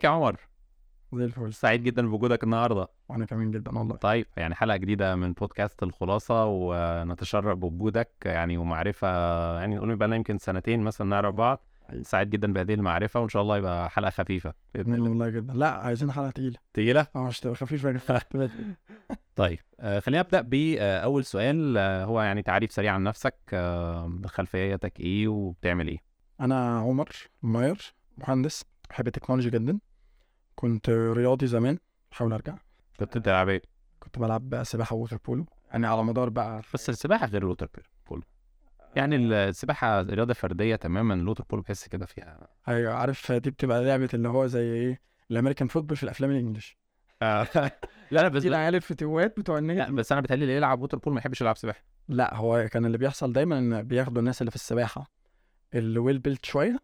ازيك يا عمر؟ زي الفل. سعيد جدا بوجودك النهارده. وانا كمان جدا والله. طيب يعني حلقة جديدة من بودكاست الخلاصة، ونتشرف بوجودك يعني ومعرفة، يعني نقول بقى لنا يمكن سنتين مثلا نعرف بعض. سعيد جدا بهذه المعرفة، وان شاء الله يبقى حلقة خفيفة بإذن الله. والله جدا. لا عايزين حلقه تقيله تقيلة؟ مش تبقى خفيف بقى. طيب خلينا نبدأ بأول سؤال. هو يعني تعريف سريع عن نفسك، خلفيتك ايه وبتعمل ايه؟ انا عمر ماير، مهندس، بحب التكنولوجي جدا. كنت رياضي زمان، بحاول ارجع. كنت بتلعب ايه؟ كنت بلعب سباحه ووتر بولو، يعني على مدار بقى. بس السباحة غير الوتر بولو. يعني السباحة رياضة فردية تماما، الوتر بولو بحس كده فيها. ايوه عارف، دي بتبقى لعبه اللي هو زي ايه، الامريكان فوتبول في الافلام الانجليش. لا بس دي العيال الفتوات بتوع لا النادي. بس انا بتهيألي اللي يلعب ووتر بول ما يحبش يلعب سباحه. لا هو كان اللي بيحصل دايما ان بياخدوا الناس اللي في السباحه اللي ويل بيلت شويه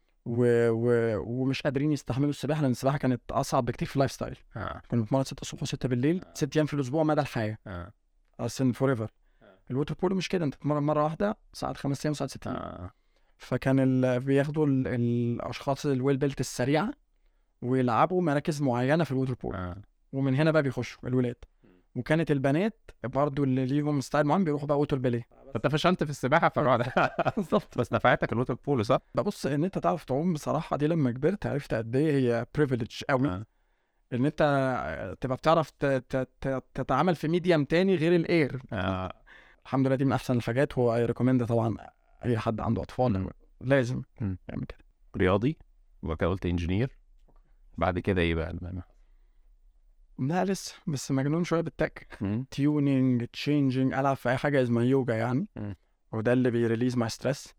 ومش قادرين يستحملوا السباحه، لان السباحه كانت اصعب بكتير في اللايف ستايل. كنا بنتمرن 6 الصبح و6 بالليل 6 ايام في الاسبوع مدى الحياه، اصلا فور ايفر. الووتر بولو مش كده، انت تتمرن مره واحده ساعات 5 ايام ساعات 6 ايام. فكان بياخدوا الاشخاص الويل بيلت السريعه ويلعبوا مراكز معينه في الووتر بولو، ومن هنا بقى بيخشوا الولاد. وكانت البنات برضو اللي ليهم ستايل معين بيروحوا بقى ووتر باليه. انت فشلت في السباحه فروح. بالظبط. بس نفعتك الووتر بول صح؟ ببص ان انت تعرف تعوم بصراحه، دي لما كبرت عرفت قد ايه هي بريفيليج قوي. ان انت تبقى بتعرف تتعامل في ميديم تاني غير الاير. الحمد لله دي من احسن الحاجات، هو اي ريكومند طبعا اي حد عنده اطفال لازم يعمل كده. رياضي وبعد كده قلت انجينير، بعد كده ايه بقى؟ لا لسه، بس مجنون شويه بالتك، تيونينج تشينجينج، العب في اي حاجه اسمها يوجا يعني. وده اللي بيريليز ماي ستريس،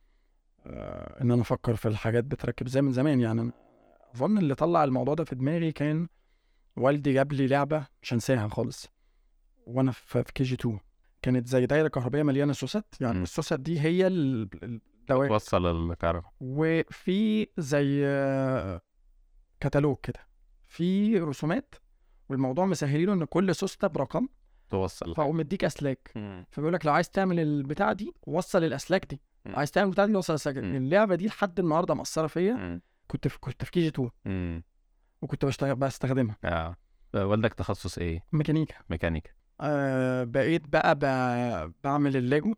ان انا افكر في الحاجات بتركب زي من زمان. يعني انا اظن اللي طلع الموضوع ده في دماغي كان والدي جاب لي لعبه مش هنساها خالص وانا في كي جي 2. كانت زي دايره كهربائيه مليانه سوست، يعني السوست دي هي الدوائر توصل الكهرباء، وفي زي كتالوج كده في رسومات، والموضوع مسهلينه ان كل سوسته برقم توصل، فهو مديك اسلاك. فبيقول لك لو عايز تعمل البتاعه دي وصل الاسلاك دي، عايز تعمل البتاعه دي وصل الاسلاك دي. اللعبه دي لحد النهارده مأثره فيا. كنت في كي جي 2 وكنت بستخدمها. والدك تخصص ايه؟ ميكانيكا. بقيت بقى بعمل الليجو.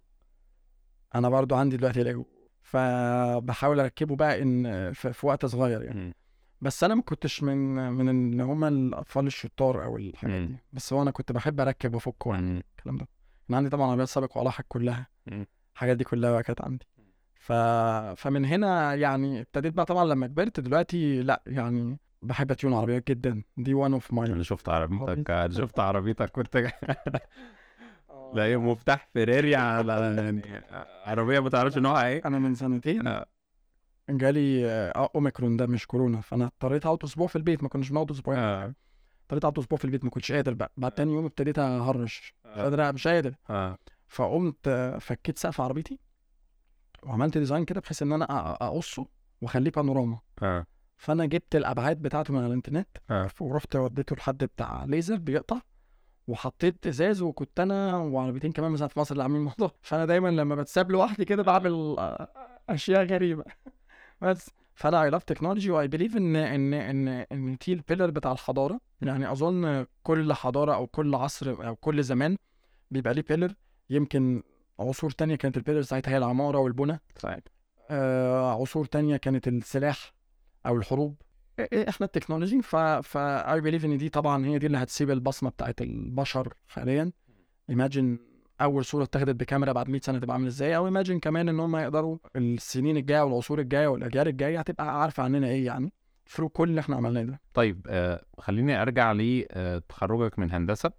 انا برضو عندي دلوقتي ليجو، فبحاول اركبه بقى ان في وقت صغير يعني. بس انا ما كنتش من اللي هم الاطفال الشطار او الحاجات دي، بس هو انا كنت بحب اركب وافك يعني الكلام ده. انا عندي طبعا عربيات سابق ولاحق كلها، الحاجات دي كلها بقى كانت عندي. فمن هنا يعني ابتديت بقى طبعا لما كبرت دلوقتي لا يعني بحب اتيون عربيات جدا. دي وان اوف ماي. انا شفت عربيتك كنت لا هي مفتاح فيراري على يعني عربيه ما تعرفش نوعها ايه. انا من سنتين جالي اوميكرون، ده مش كورونا، فانا اضطريت اقعد اسبوع في البيت، ما كناش بنقعد اسبوع. اضطريت اقعد اسبوع في البيت، ما كنتش قادر بقى. بعد تاني يوم ابتديت اهرش، مش قادر. فقمت فكيت سقف عربيتي وعملت ديزاين كده بحيث ان انا اقصه واخليه بانوراما. فانا جبت الابعاد بتاعته من على الانترنت ورحت وديته لحد بتاع ليزر بيقطع، وحطيت ازاز. وكنت انا وعربيتين كمان مثلا في مصر اللي عاملين الموضوع. فانا دايما لما بتساب لوحدي كده بعمل اشياء غريبه. بس فانا اي لاف تكنولوجي، واي بليف ان دي البيلر بتاع الحضاره. يعني اظن كل حضاره او كل عصر او كل زمان بيبقى ليه بيلر. يمكن عصور تانية كانت البيلر ساعتها هي العماره والبنى. عصور تانية كانت السلاح او الحروب. احنا التكنولوجي. اي بليف ان دي طبعا هي دي اللي هتسيب البصمه بتاعت البشر حاليا. ايماجين اول صوره اتخذت بكاميرا بعد 100 سنه تبقى عامله ازاي، او ايماجين كمان ان هم يقدروا السنين الجايه والعصور الجايه والاجيال الجايه هتبقى عارفه عننا ايه يعني ثرو كل اللي احنا عملناه ده. طيب خليني ارجع لتخرجك من هندسه.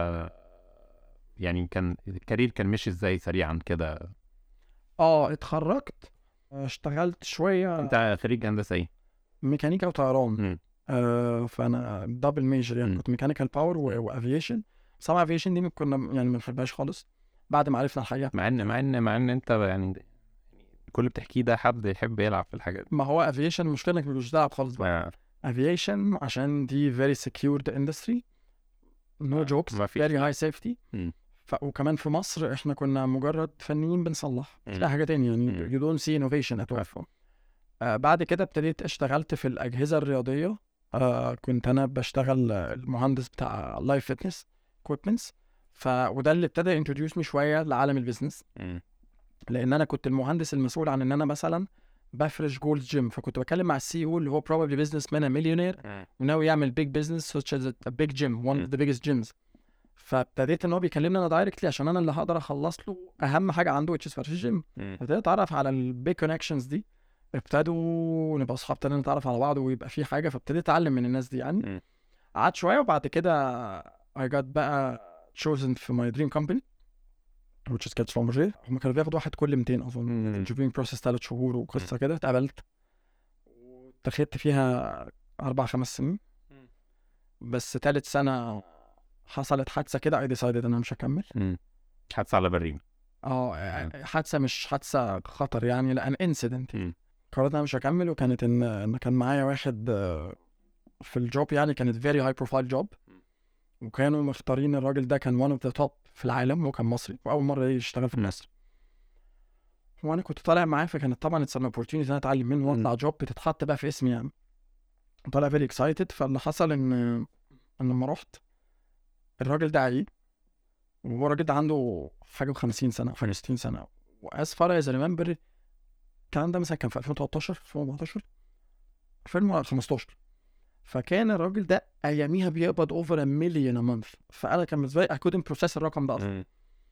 يعني كان الكارير كان ماشي ازاي سريعا كده؟ اتخرجت اشتغلت شويه. انت خريج هندسه ايه؟ ميكانيكا وطيران. فانا دبل ميجر يعني. كنت ميكانيكال باور وافيشن. طبعا افيشن دي كنا يعني ما بنحبهاش خالص بعد ما عرفنا الحقيقه. مع ان انت يعني كل اللي بتحكيه ده حد يحب يلعب في الحاجات دي. ما هو افيشن المشكله انك مش بتلعب خالص بقى. افيشن عشان دي very secured industry, no jokes, very high safety. وكمان في مصر احنا كنا مجرد فنيين بنصلح، مش لاقي حاجه تانية يعني. you don't see innovation at all. بعد كده ابتديت اشتغلت في الأجهزة الرياضية. كنت أنا بشتغل المهندس بتاع لايف فيتنس equipments. وده اللي ابتدى introduce me شوية لعالم البيزنس، لأن أنا كنت المهندس المسؤول عن إن أنا مثلا بفرش جولد جيم. فكنت بكلم مع السي او اللي هو probably businessman a millionaire وناوي يعمل big business such as a big gym, one of the biggest gyms. فابتديت ان هو بيكلمني انا دايركتلي عشان انا اللي هقدر اخلص له اهم حاجه عنده which is فرش الجيم. ابتديت اتعرف على البيج كونكشنز دي، ابتدوا نبقى اصحاب، ابتدينا نتعرف على بعض ويبقى في حاجه، فابتديت اتعلم من الناس دي يعني. قعدت شويه وبعد كده I got بقى chosen في my dream company which is كانت شلومبرجيه. هم كانوا بياخدوا واحد كل 200 اظن. interviewing process 3 شهور وقصه كده. اتقبلت واتخذت فيها 4-5 سنين. بس ثالث سنه حصلت حادثه كده I decided ان انا مش هكمل. حادثه على بريم؟ حادثه مش حادثه خطر يعني، لان انسيدنت. قررت انا مش هكمل، وكانت ان كان معايا واحد في الجوب يعني، كانت very high profile job، وكانوا مختارين الراجل ده كان one of the top في العالم، وكان مصري واول مره يشتغل في مصر. وانا كنت طالع معاه، فكانت طبعا it's an opportunity ان انا اتعلم منه واطلع جوب بتتحط بقى في اسمي يعني. طالع very excited. فاللي حصل ان لما رحت الراجل ده عيل، وهو الراجل ده عنده حاجه 50 سنه 60 سنه. واز فار از ريمبر الكلام ده مثلا كان في 2013 2014 2015. فكان الراجل ده اياميها بيقبض over $1 million a month. فانا كان بالنسبه لي I couldn't process الرقم ده اصلا.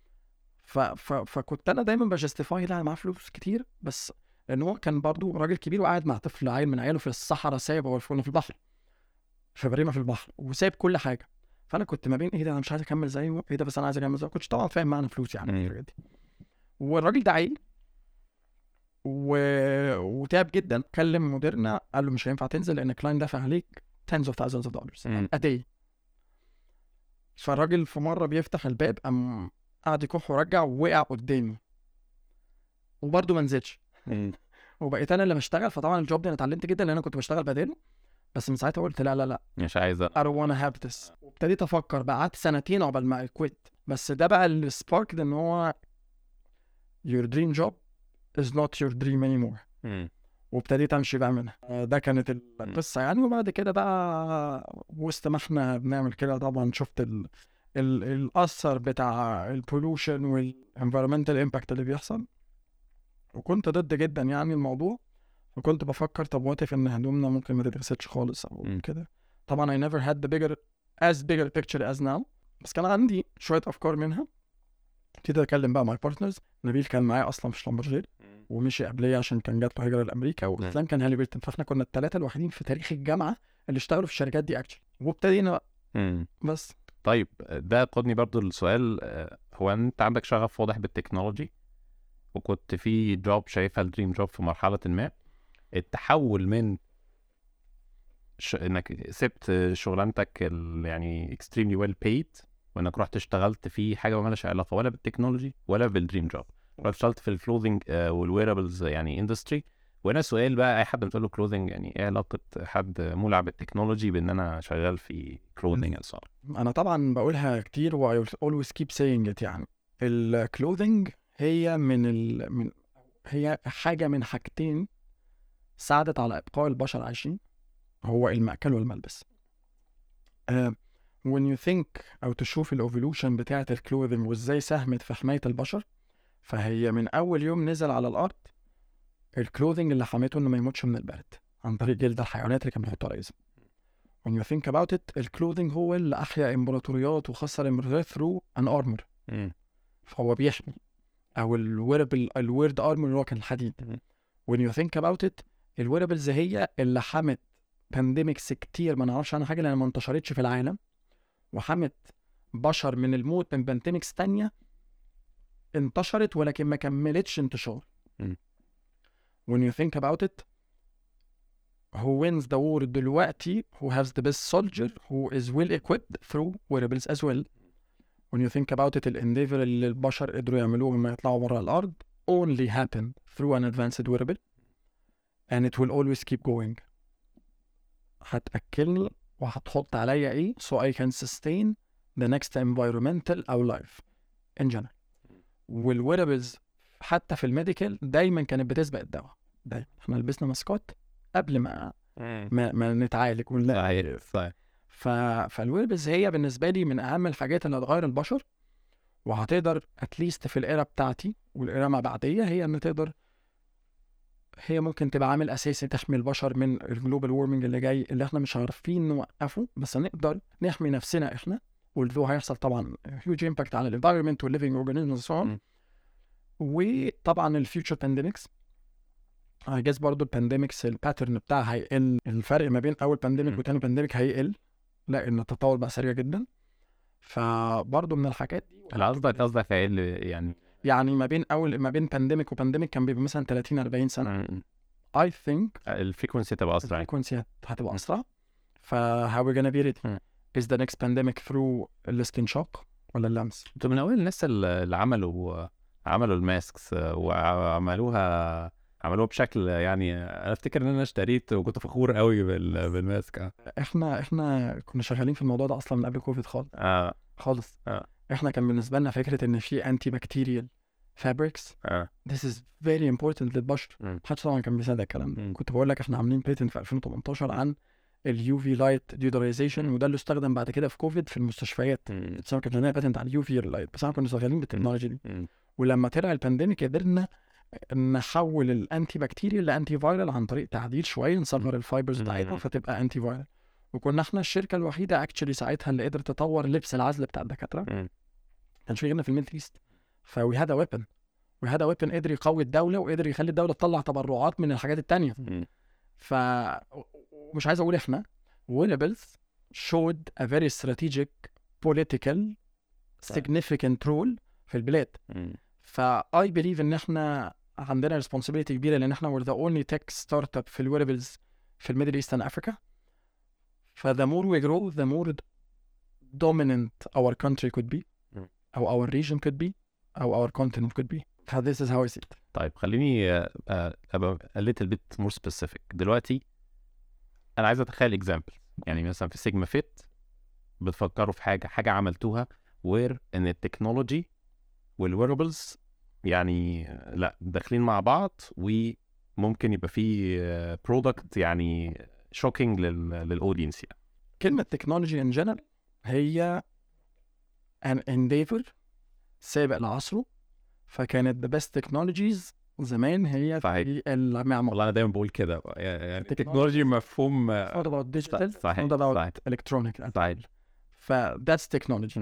فكنت انا دايما بجستيفاي لا انا معاه فلوس كتير، بس لان هو كان برضو راجل كبير وقاعد مع طفل عيل من عياله في الصحراء، سايب هو في البحر، في بريمه في البحر، وسايب كل حاجه. فانا كنت ما بين ايه ده انا مش عايز اكمل زيه، ايه ده بس انا عايز اكمل زيه. كنتش طبعا فاهم معنى فلوس يعني الحاجات دي. والراجل ده عيل وتعب جدا. كلم مديرنا قال له مش هينفع تنزل لان الكلاين دافع عليك tens of thousands of dollars a day. فالراجل في مره بيفتح الباب قام قعد يكح ورجع ووقع قدامي، وبرده ما نزلش. وبقيت انا اللي بشتغل. فطبعا الجوب ده انا اتعلمت جدا لان انا كنت بشتغل بداله، بس من ساعتها قلت لا مش عايز I don't wanna have this. وابتديت افكر بقى، قعدت 2 سنين عقبال ما اكويت. بس ده بقى السبارك ده ان هو your dream job is not your dream anymore. وابتديت امشي بقى منها. ده كانت القصه يعني. وبعد كده بقى وسط ما احنا بنعمل كده طبعا شفت الاثر بتاع البولوشن والانفيرمنتال امباكت اللي بيحصل، وكنت ضد جدا يعني الموضوع. وكنت بفكر طب وات ان هدومنا ممكن ما تتغسلش خالص او كده. طبعا I never had the bigger picture as now، بس كان عندي شويه افكار منها. ابتديت اتكلم بقى مع بارتنرز. نبيل كان معايا اصلا في شلومبرجيه ومشي قبليه عشان كان جات له هجره لامريكا، واسلام كان هالي بيرتن. فاحنا كنا الثلاثه الوحيدين في تاريخ الجامعه اللي اشتغلوا في الشركات دي اكشلي، وابتدينا بس. طيب ده قودني برضو للسؤال. هو انت عندك شغف واضح بالتكنولوجي، وكنت في جوب شايفها الدريم جوب في مرحله ما. التحول من انك سبت شغلانتك يعني extremely well paid، وانك رحت اشتغلت في حاجه ما لهاش علاقه ولا بالتكنولوجي ولا بالدريم جوب، رحت اشتغلت في الكلوذينج والويرابلز يعني اندستري. وانا سؤال بقى، اي حد بتقول له كلوذينج يعني ايه علاقه حد مولع بالتكنولوجي بان انا شغال في كلوذينج؟ انا طبعا بقولها كتير و I always keep saying it. يعني الكلوذينج هي هي حاجه من حاجتين ساعدت على ابقاء البشر عايشين، هو المأكل والملبس. when you think أو تشوف الأوفولوشن بتاعة الكلوذينج وإزاي ساهمت في حماية البشر، فهي من أول يوم نزل على الأرض الكلوذينج اللي حميته إنه ما يموتش من البرد عن طريق جلد الحيوانات اللي كان بيحطوا على جسمه. when you think about it الكلوذينج هو اللي أحيا إمبراطوريات وخسر إمبراطوريات through an armor. فهو بيحمي. أو الويرد armor اللي هو كان الحديد. when you think about it الويربلز هي اللي حمت بانديميكس كتير ما نعرفش عنها حاجه لان ما انتشرتش في العالم، وحمت بشر من الموت من بانديميكس تانية انتشرت ولكن ما كملتش انتشار. when you think about it who wins the war دلوقتي who has the best soldier who is well equipped through wearables as well. when you think about it الانديفر اللي البشر قدروا يعملوه لما يطلعوا برا الارض only happen through an advanced wearable and it will always keep going. هتأكلني وهتحط عليا ايه so I can sustain the next environmental أو life in general. والويرابلز حتى في الميديكال دايما كانت بتسبق الدواء دايما احنا لبسنا ماسكات قبل ما نتعالج ونلاقي. صحيح. فالويربلز هي بالنسبه لي من اهم الحاجات اللي هتغير البشر، وهتقدر اتليست في الايرا بتاعتي والايرا ما بعديه، هي ان تقدر، هي ممكن تبقى عامل اساسي تحمي البشر من الجلوبال وورمنج اللي جاي، اللي احنا مش عارفين نوقفه، بس نقدر نحمي نفسنا احنا، والذو هيحصل طبعا هيوج امباكت على الانفايرمنت والليفنج اورجانيزمز سو. وطبعا الفيوتشر بانديميكس هيجاز برضو البانديميكس الباترن بتاعها هيقل، الفرق ما بين اول بانديميك وتاني بانديميك هيقل لان التطور بقى سريع جدا. فبرضو من الحاجات دي انا قصدك هيقل يعني ما بين بانديميك وبانديميك كان بيبقى مثلا 30-40 سنه. I think الفريكونسي تبقى اسرع، الفريكونسي هتبقى اسرع. how we're gonna be ready is the next pandemic through الاستنشاق ولا اللمس. انتوا من اول الناس اللي عملوا الماسكس وعملوها بشكل، يعني انا افتكر ان انا اشتريت وكنت فخور قوي بالماسك. احنا كنا شغالين في الموضوع ده اصلا من قبل كوفيد خالص. احنا كان بالنسبه لنا فكره ان في انتي بكتيريال فابريكس this is very important للبشر. محدش طبعا كان بيصدق الكلام ده. كنت بقول لك احنا عاملين بيتنت في 2018 عن اليو في لايت ديودرايزيشن، وده اللي استخدم بعد كده في كوفيد في المستشفيات. بس كان لنا بيتنت على اليو في لايت، بس احنا كنا شغالين بالتكنولوجي دي. ولما طلع البانديميك قدرنا نحول الانتي بكتيريال لانتي فايرال عن طريق تعديل شويه، نصغر الفايبرز بتاعتها فتبقى انتي فايرال. وكنا احنا الشركه الوحيده اكشلي ساعتها اللي قدرت تطور لبس العزل بتاع الدكاتره. كانش في غيرنا في الميدل ايست. فوي هاد ا ويبن قدر يقوي الدوله، وقدر يخلي الدوله تطلع تبرعات من الحاجات التانية. ومش عايز اقول احنا ويربلز showed a very strategic political significant role في البلاد. I believe ان احنا عندنا responsibility كبيره، لان احنا we're the only tech startup في الويربلز في الميدل ايست and Africa. the more we grow the more dominant our country could be او our region could be او our continent could be. this is how I see it. طيب خليني ابقى a little bit more specific. دلوقتي انا عايز اتخيل example، يعني مثلا في سيجما فيت بتفكروا في حاجه عملتوها وير ان التكنولوجي والويربلز يعني لا داخلين مع بعض، وممكن يبقى في برودكت يعني شوكينج للاودينس. يعني كلمه تكنولوجي ان جنرال هي an endeavor سابق لعصره، فكانت the best technologies زمان هي في المعمار. والله انا دايما بقول كده، يعني التكنولوجي مفهوم not about digital صحيح. not about electronic صحيح. that's technology.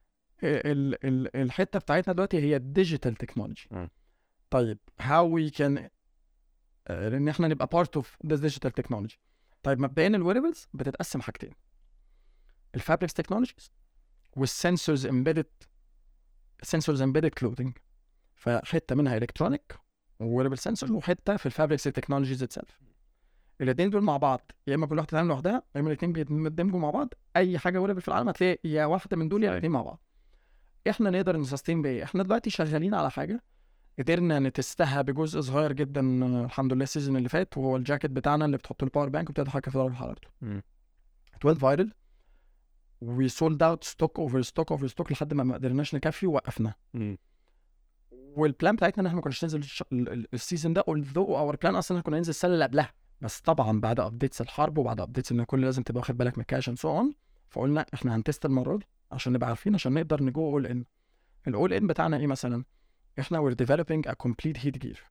الحته بتاعتنا دلوقتي هي digital technology. طيب how we can ان احنا نبقى part of this digital technology. طيب مبدئيا الويربلز بتتقسم حاجتين، الفابريكس تكنولوجيز والسنسورز embedded clothing. فحته منها الكترونيك وويربل سنسور، وحته في الفابريكس تكنولوجيز اتسلف. الاثنين دول مع بعض، يا اما كل واحده تعمل لوحدها، يا اما الاثنين بيندمجوا مع بعض. اي حاجه ويربل في العالم هتلاقي يا واحده من دول يا الاثنين مع بعض. احنا نقدر نسستين بايه؟ احنا دلوقتي شغالين على حاجه قدرنا نتستها بجزء صغير جدا الحمد لله السيزون اللي فات، وهو الجاكيت بتاعنا اللي بتحط له باور بانك وبتتحكم في درجه حرارته. 12 فايرل وي سولد اوت ستوك اوفر ستوك لحد ما قدرناش نكفي ووقفنا. والبلان بتاعتنا ان احنا ما كناش ننزل السيزون ده، although اور بلان اصلا كنا ننزل السنه اللي قبلها، بس طبعا بعد ابديتس الحرب وبعد ابديتس ان كل لازم تبقى واخد بالك من الكاش اند سو اون، فقلنا احنا هنتست المره دي عشان نبقى عارفين، عشان نقدر نجو اول ان. الاول ان بتاعنا ايه مثلا؟ احنا we're developing a complete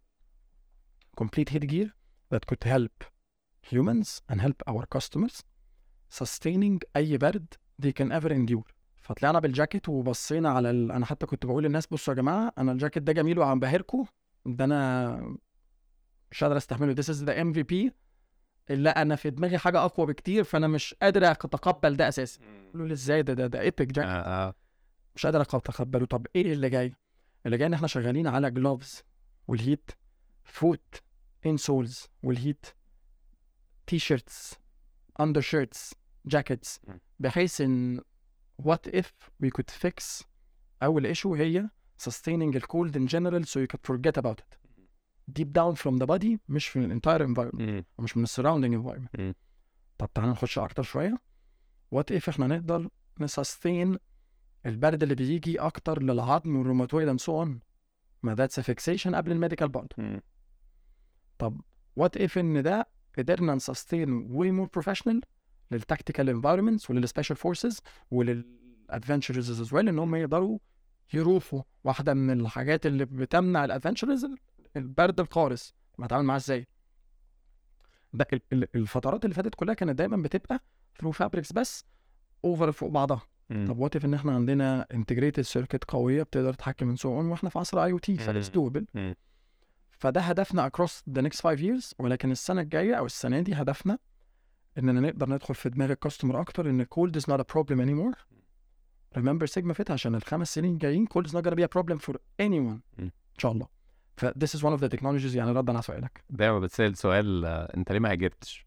heat gear that could help humans and help our customers sustaining اي برد they can ever endure. فطلعنا بالجاكيت وبصينا على انا حتى كنت بقول للناس بصوا يا جماعه انا الجاكيت ده جميل وعم بهركم، ده انا مش قادر استحمله، this is the MVP، الا انا في دماغي حاجه اقوى بكتير فانا مش قادر اتقبل ده اساسا. قالوا لي ازاي ده ايبك جاكيت مش قادر اتقبله. طب ايه اللي جاي؟ اللي جاي ان احنا شغالين على جلوفز والهيت، فوت انسولز والهيت، تي شيرتس، اندر شيرتس، جاكيتس، بحيث ان what if we could fix أول issue هي sustaining the cold in general so you could forget about it deep down from the body، مش في ال entire environment ومش من ال surrounding environment. طب تعالى نخش أكتر شوية، what if إحنا نقدر نسستين البرد اللي بيجي أكتر للعظم والروماتويد and so on، ما that's a fixation قبل الميديكال برضه. طب what if ان ده قدرنا نسستين way more professional للتكتيكال environments وللسبيشال فورسز وللادفنتشرز as well ان هم يقدروا يروحوا. واحده من الحاجات اللي بتمنع الادفنتشرز البرد القارس، ما اتعامل معاه ازاي. ده الفترات اللي فاتت كلها كانت دايما بتبقى ثرو فابريكس بس اوفر فوق بعضها. طب وات اف ان احنا عندنا انتجريتد سيركت قويه بتقدر تتحكم من سو اون، واحنا في عصر اي او تي فاتس دوبل. فده هدفنا across the next 5 years. ولكن السنه الجايه او السنه دي هدفنا اننا نقدر ندخل في دماغ الكاستمر اكتر ان cold is not a problem anymore. remember سيجما فيت عشان ال5 سنين الجايين cold is not gonna be a problem for anyone ان شاء الله. ف this is one of the technologies. يعني ردا على سؤالك، دايما بتسأل سؤال انت ليه ما هاجرتش؟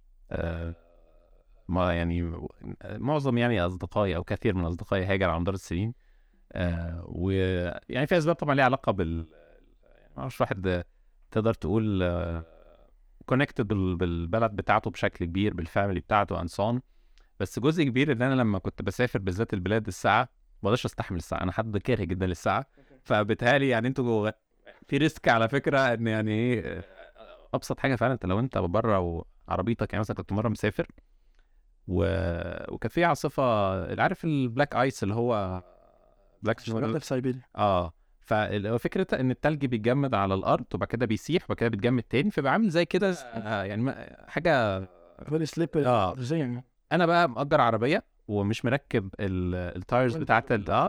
ما يعني معظم يعني اصدقائي او كثير من اصدقائي هاجر على مدار السنين، ويعني في اسباب طبعا ليها علاقه بال مش واحد تقدر تقول كونكتد بالبلد بتاعته بشكل كبير، بالفاميلي بتاعته انصان. بس جزء كبير ان انا لما كنت بسافر بالذات البلاد الساعه ما بقدرش استحمل الساعه، انا حد كاره جدا للساعه. فبالتالي يعني انتوا في ريسك على فكره ان يعني ايه ابسط حاجه فعلا انت لو انت بره وعربيتك، يعني مثلا كنت مره مسافر وكان في عاصفه، عارف البلاك ايس اللي هو بلاك في سيبيريا. ففكرة ان التلج بيتجمد على الارض وبعد كده بيسيح وبعد كده بيتجمد تاني، فبقى عامل زي كده يعني حاجه فيري سليب. انا بقى مأجر عربيه ومش مركب التايرز بتاعت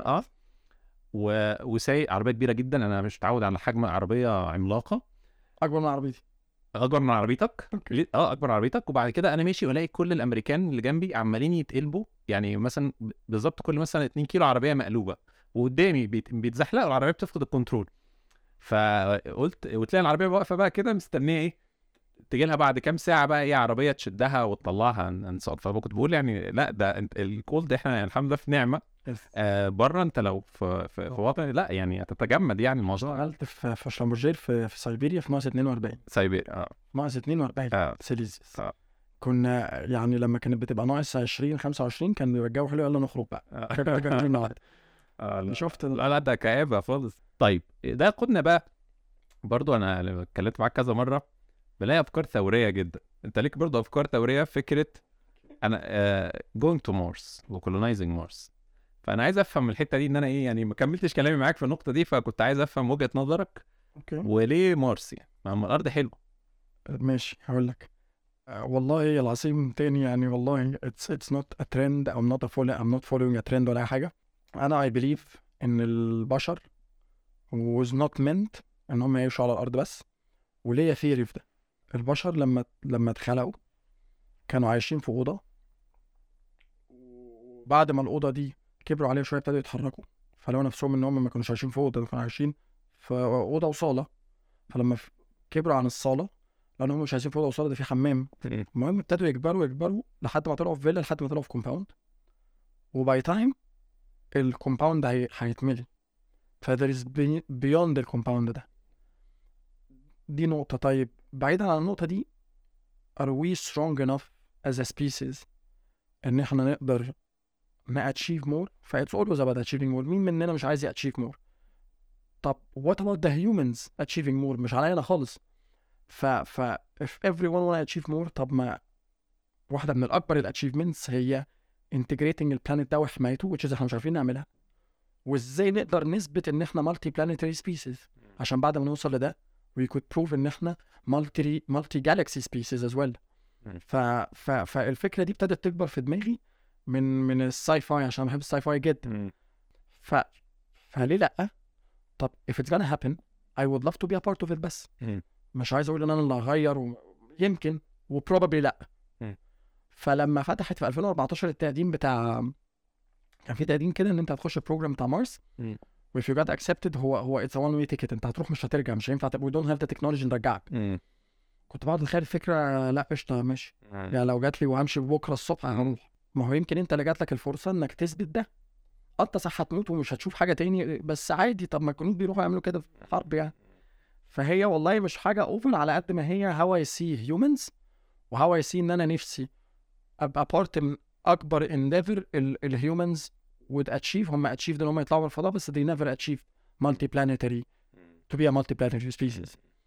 وسايق عربيه كبيره جدا، انا مش متعود على حجم عربيه عملاقه اكبر من عربيتي، اكبر من عربيتك. اكبر من عربيتك. وبعد كده انا ماشي والاقي كل الامريكان اللي جنبي عمالين يتقلبوا، يعني مثلا بالظبط كل مثلا 2 كيلو عربيه مقلوبه وقدامي بيتزحلقوا، العربيه بتفقد الكنترول. فقلت وتلاقي العربيه واقفه بقى كده مستنيه ايه تجي لها بعد كام ساعه بقى ايه عربيه تشدها وتطلعها انصار. فكنت بقول يعني لا ده الكول ده احنا يعني الحمد لله في نعمه. بره انت لو في وطن لا يعني هتتجمد يعني الموضوع. اشتغلت في شلمبرجير في سيبيريا في ناقص 42 سيبيريا ناقص 42 سيليزيوس. كنا يعني لما كانت بتبقى ناقص 20 25 كان بيبقى الجو حلو، يلا نخرج بقى. شفت لا ده كآبة خالص. طيب ده قلنا بقى برضو انا اتكلمت معاك كذا مره بلاقي افكار ثوريه جدا. انت ليك برضو افكار ثوريه، فكره انا going to Mars وcolonizing Mars. فانا عايز افهم الحته دي ان انا ايه يعني ما كملتش كلامي معاك في النقطه دي، فكنت عايز افهم وجهه نظرك. وليه مارس يعني ما الارض حلوه. ماشي هقول لك. والله العظيم تاني يعني والله it's not a trend. I'm not following a trend ولا اي حاجه. انا I believe ان البشر was not meant ان هم يعيشوا على الارض بس. وليه ثيري في ده. البشر لما اتخلقوا كانوا عايشين في اوضه، وبعد ما الاوضه دي كبروا عليها شويه ابتدوا يتحركوا، فلو نفسهم ان هم ما كانوش عايشين في اوضه، كانوا عايشين في اوضه وصاله. فلما كبروا عن الصاله لان هم مش عايزين في اوضه وصاله، ده في حمام. المهم ابتدوا يكبروا لحد ما طلعوا في فيلا، لحد ما طلعوا في كومباوند. وباي تايم الكومباوند هيتملي. فذير از بيوند الكومباوند ده. دي نقطه. طيب بعيدا عن النقطه دي، are we strong enough as a species ان احنا نقدر achieve more؟ فايتس always about achieving more. مين مننا مش عايز achieve more؟ طب what about the humans achieving more؟ مش علينا خالص. if everyone wanna achieve more، طب ما واحدة من الأكبر الاتشيفمنتس هي integrating البلانيت ده وحمايته، which is احنا مش عارفين نعملها. وازاي نقدر نثبت ان احنا multi planetary species عشان بعد ما نوصل لده we could prove ان احنا multi galaxy species as well. فالفكرة دي ابتدت تكبر في دماغي من الساي فاي عشان بحب الساي فاي جدا. فليه لأ؟ طب if it's gonna happen I would love to be a part of it. بس مش عايز اقول ان انا اللي هغير، يمكن وبروبابلي لأ. فلما فتحت في 2014 التقديم بتاع، كان في تقديم كده ان انت هتخش البروجرام بتاع مارس و if you got accepted هو it's a one way ticket. انت هتروح مش هترجع، مش هينفع we don't have the technology نرجعك. كنت بقعد اتخيل الفكره، لا قشطه ماشي يعني لو جات لي وهمشي بكره الصبح هروح. ما هو يمكن انت اللي جات لك الفرصه انك تثبت ده. انت صح هتموت ومش هتشوف حاجه تاني، بس عادي. طب ما الجنود بيروحوا يعملوا كده في حرب يعني. فهي والله مش حاجه اوفر على قد ما هي how I see humans و how I see ان انا نفسي ابقى بارت من اكبر endeavor الهيومنز would achieve. هم achieved ان هم يطلعوا الفضاء، بس they never achieved multi-planetary to be a multi-planetary species.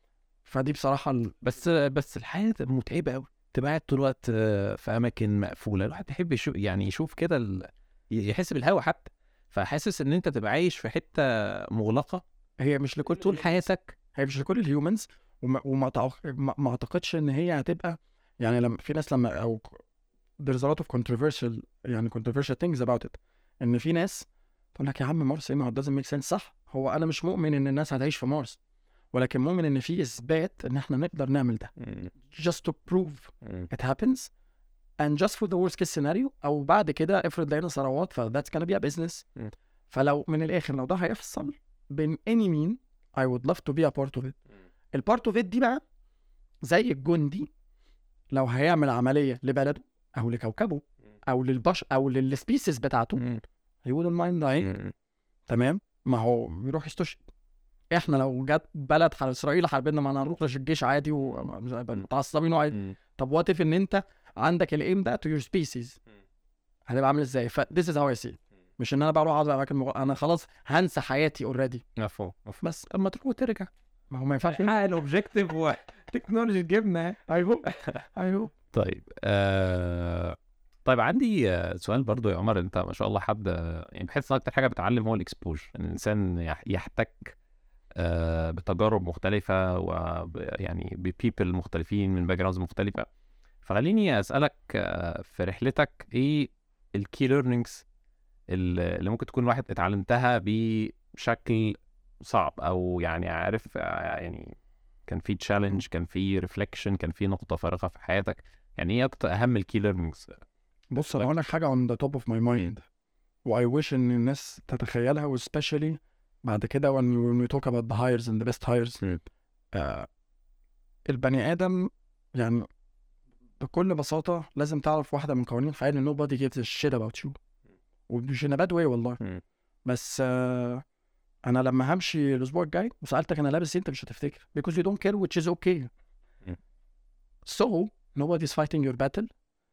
فدي بصراحه بس الحياه متعبه قوي، تبقى قاعد طول الوقت في اماكن مقفوله. الواحد بيحب يشوف كده يحس بالهوا حتى. فحاسس ان انت تبقى عايش في حته مغلقه هي مش لكل طول حياتك. هي مش لكل الهيومنز. ما اعتقدش ان هي هتبقى يعني لما في ناس لما او there's a lot of controversial يعني controversial things about it ان في ناس تقول لك يا عم مارس ايه، ما هو it doesn't make sense. صح، هو انا مش مؤمن ان الناس هتعيش في مارس، ولكن مؤمن ان في اثبات ان احنا نقدر نعمل ده just to prove it happens and just for the worst case scenario. او بعد كده افرض لقينا ثروات ف that's gonna be a business. فلو من الاخر لو ده هيحصل بين any mean I would love to be a part of it. البارت اوف ات دي بقى زي الجندي لو هيعمل عمليه لبلده او لكوكبه او للبشر او للسبيسيس بتاعته he wouldn't mind dying. تمام، ما هو يروح يستشهد. احنا لو جت بلد على اسرائيل حاربنا، ما هنروح الجيش عادي ومتعصبين وعادي. طب وات اف ان انت عندك الايم ده تو يور سبيسيس، هتبقى عامل ازاي؟ ف this is how I see it. مش ان انا بروح اقعد في اماكن انا خلاص هنسى حياتي اوريدي. بس اما تروح وترجع، ما هو ما ينفعش الاوبجيكتيف والتكنولوجي جبنا. ايوه طيب طيب عندي سؤال برضو يا عمر. انت ما شاء الله حد يعني بحس ان اكتر حاجه بتعلم هو الاكسبوجر، ان الانسان يحتك بتجارب مختلفه ويعني ببيبل مختلفين من باك جراوندز مختلفه. فخليني اسالك في رحلتك ايه الكي ليرنينجز اللي ممكن تكون الواحد اتعلمتها بشكل صعب، او يعني عارف يعني كان في تشالنج، كان في ريفليكشن، كان في نقطه فارقه في حياتك. يعني ايه اكتر اهم الكي ليرنينجز؟ بص انا هقول لك حاجه on the top of my mind و I wish ان الناس تتخيلها، و especially بعد كده when we talk about the hires and the best hires. البني ادم يعني بكل بساطه لازم تعرف واحده من قوانين الحياه ان nobody gives a shit about you، ومش in a bad way والله. بس انا لما همشي الاسبوع الجاي وسالتك انا لابس ايه، انت مش هتفتكر because you don't care, which is okay. So nobody's fighting your battle.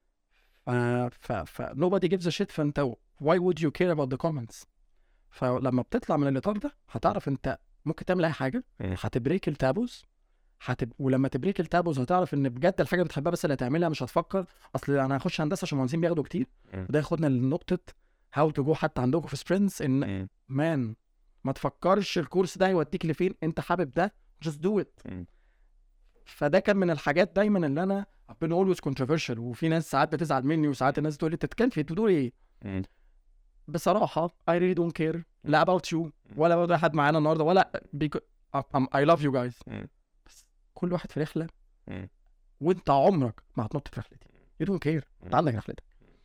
nobody gives a shit. فانت why would you care about the comments؟ فلما بتطلع من الاطار ده هتعرف انت ممكن تعمل اي حاجه، هتبريك التابوز. ولما تبريك التابوز هتعرف ان بجد الحاجه بتحبها بس اللي هتعملها، مش هتفكر اصل انا هخش هندسه عشان المهندسين بياخدوا كتير. وده ياخدنا لنقطه how to go حتى عندكم في سبرينتس، ان مان ما تفكرش الكورس ده هيوديك لفين، انت حابب ده just do it. فده كان من الحاجات دايما اللي انا I've been always controversial، وفي ناس ساعات بتزعل مني وساعات الناس تقول لي انت بتتكلم في تقول ايه. بصراحه I really don't care لا about you ولا about حد معانا النهارده ولا I love you guys. بس كل واحد في رحله، وانت عمرك ما هتنط في رحلتي. you don't care، انت عندك رحلتك.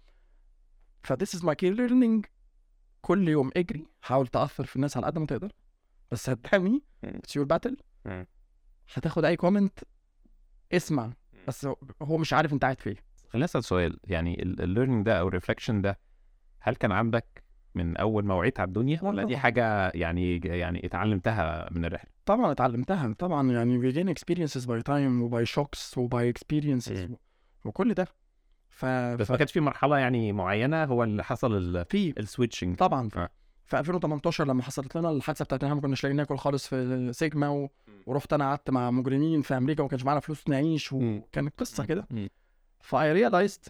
ف this is my key learning. كل يوم اجري، حاول تأثر في الناس على قد ما تقدر، بس هتحمي it's your battle. هتاخد اي كومنت اسمع، بس هو مش عارف انت قاعد فين. خليني اسال سؤال، يعني الليرنينج ده او الريفلكشن ده هل كان عندك من اول ما وعيت على الدنيا، ولا دي حاجه يعني اتعلمتها من الرحله؟ طبعا اتعلمتها طبعا، يعني we gain experiences by time و by shocks و by experiences وكل ده. بس ما كانش في مرحله يعني معينه هو اللي حصل في السويتشنج طبعا. في 2018 لما حصلت لنا الحادثه بتاعت ان احنا ما كناش لاقيين ناكل خالص في سيجما ورحت انا قعدت مع مجرمين في امريكا وما كانش معانا فلوس نعيش، وكانت قصه كده. فاي ريلايزد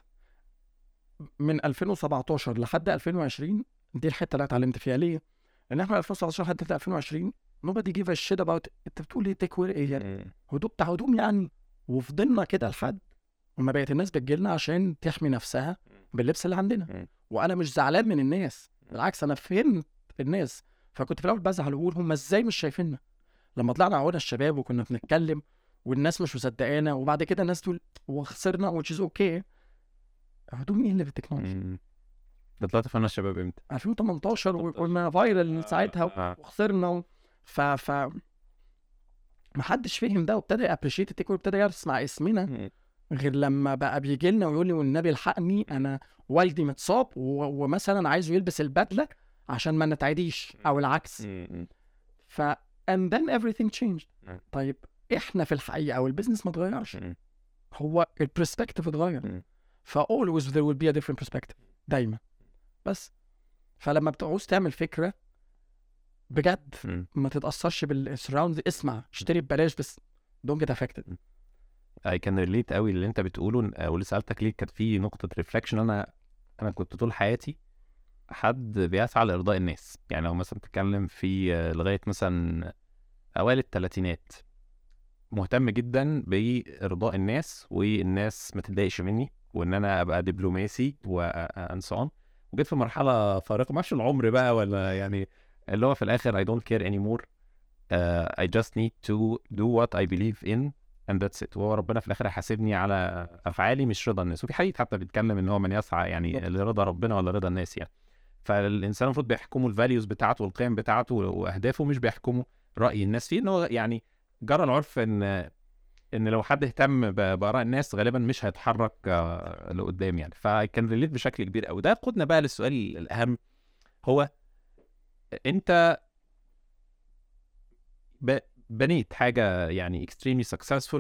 من 2017 لحد 2020 دي الحته اللي اتعلمت فيها. ليه؟ لان احنا 2017 لحد 2020 nobody give a shit about انت بتقول ايه تكوير ايه يعني هدوم بتاع هدوم يعني. وفضلنا كده لحد وما بقت الناس بتجيلنا عشان تحمي نفسها باللبس اللي عندنا. وانا مش زعلان من الناس، بالعكس انا فهمت الناس. فكنت في الاول بزعل واقول هم ازاي مش شايفيننا. لما طلعنا عودنا الشباب وكنا بنتكلم والناس مش مصدقانا، وبعد كده الناس تقول وخسرنا which is okay. هدوم ايه اللي بالتكنولوجيا؟ ده طلعت فينا الشباب امتى؟ 2018 وقلنا فايرال ساعتها وخسرنا. ف محدش فهم ده وابتدى ابريشيت التكنولوجيا وابتدى يسمع اسمنا غير لما بقى بيجي لنا ويقول لي والنبي الحقني انا والدي متصاب ومثلا عايزه يلبس البدله عشان ما نتعديش او العكس. ف and then everything changed. طيب احنا في الحقيقه او البيزنس ما اتغيرش، هو البرسبكتيف اتغير. ف always there will be a different perspective دايما. بس فلما بتعوز تعمل فكره بجد ما تتاثرش بالسراوند، اسمع اشتري ببلاش بس don't get affected. I can relate قوي اللي انت بتقوله. واللي سألتك ليه كانت في نقطة ريفلكشن. انا كنت طول حياتي حد بيسعى لإرضاء الناس. يعني لو مثلا تتكلم في لغاية مثلا أوائل الثلاثينات مهتم جدا بإرضاء الناس، والناس ما تتضايقش مني، وإن أنا أبقى دبلوماسي وأنسون. وجيت في مرحلة فارقة، ما اعرفش العمر بقى ولا يعني، اللي هو في الآخر I don't care anymore. I just need to do what I believe in and that's it. وهو ربنا في الآخر هيحاسبني على أفعالي مش رضا الناس. وفي حديث حتى بيتكلم إن هو من يسعى يعني لرضا ربنا ولا رضا الناس يعني. فالإنسان المفروض بيحكموا الفاليوز بتاعته والقيم بتاعته وأهدافه، مش بيحكموا رأي الناس فيه. إن هو يعني جرى العرف إن لو حد اهتم بآراء الناس غالبا مش هيتحرك لقدام يعني. فكان ريليت بشكل كبير قوي. ده قودنا بقى للسؤال الأهم، هو أنت بنيت حاجة يعني extremely successful،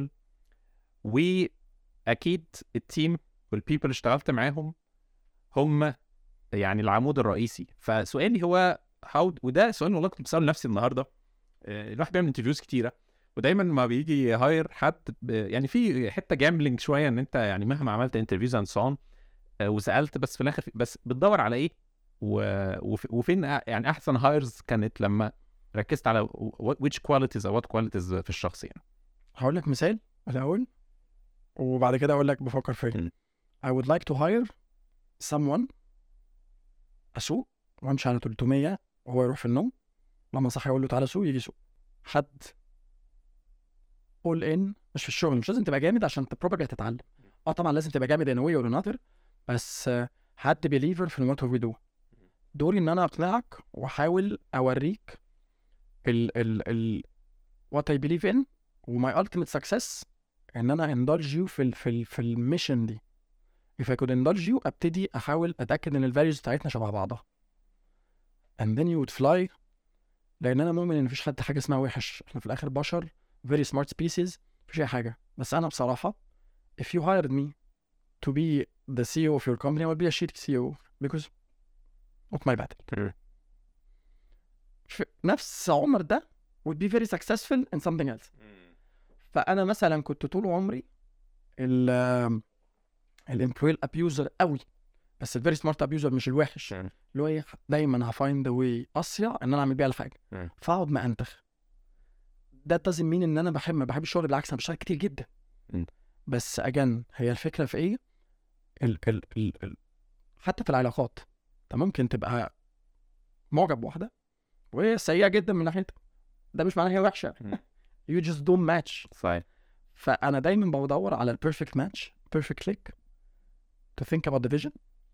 وأكيد التيم والبيبل اللي اشتغلت معاهم هم يعني العمود الرئيسي. فسؤالي هو وده سؤال والله كنت بسأله لنفسي النهارده. الواحد بيعمل انترفيوز كتيرة، ودايما ما بيجي هاير حد يعني في حتة جامبلينج شوية، ان انت يعني مهما عملت انترفيوز اند سون وسألت، بس في الاخر بس بتدور على ايه وفين يعني احسن هايرز كانت لما ركزت على which qualities or what qualities في الشخص يعني. هقول لك مثال الاول وبعد كده اقول لك بفكر فين. I would like to hire someone اسوق وامشي على 300 وهو يروح في النوم، لما صحي اقول له تعالى سوق يجي سوق. حد all in، مش في الشغل مش لازم تبقى جامد عشان بروبابلي هتتعلم. طبعا لازم تبقى جامد in a way or another، بس حد believer في what we do. دوري ان انا اقنعك واحاول اوريك ال what I believe in و my ultimate success، ان انا indulge you في الميشن دي. if I could indulge you ابتدي احاول اتاكد ان الفاليوز بتاعتنا شبه بعضها and then you would fly. لان انا مؤمن ان مفيش حد حاجه اسمها وحش، احنا في الاخر بشر very smart species، مفيش اي حاجه. بس انا بصراحه if you hired me to be the CEO of your company I will be a shitty CEO because of my battle. نفس عمر ده would be very successful in something else. فانا مثلا كنت طول عمري الامبلوي ابيوزر قوي، بس الفيري سمارت ابيوزر مش الوحش، اللي هو دايما هفايند واي اسرع ان انا اعمل بيها الحاجه فاقعد ما انتخ. ده doesn't mean ان انا ما بحب الشغل، بالعكس انا بشتغل كتير جدا. بس اجان هي الفكره في ايه؟ حتى في العلاقات انت ممكن تبقى معجب بواحده وهي سيئه جدا من ناحيتك، ده مش معناه هي وحشه. you just don't match. صحيح. فانا دايما بدور على البيرفكت ماتش، بيرفكت click to think about the vision.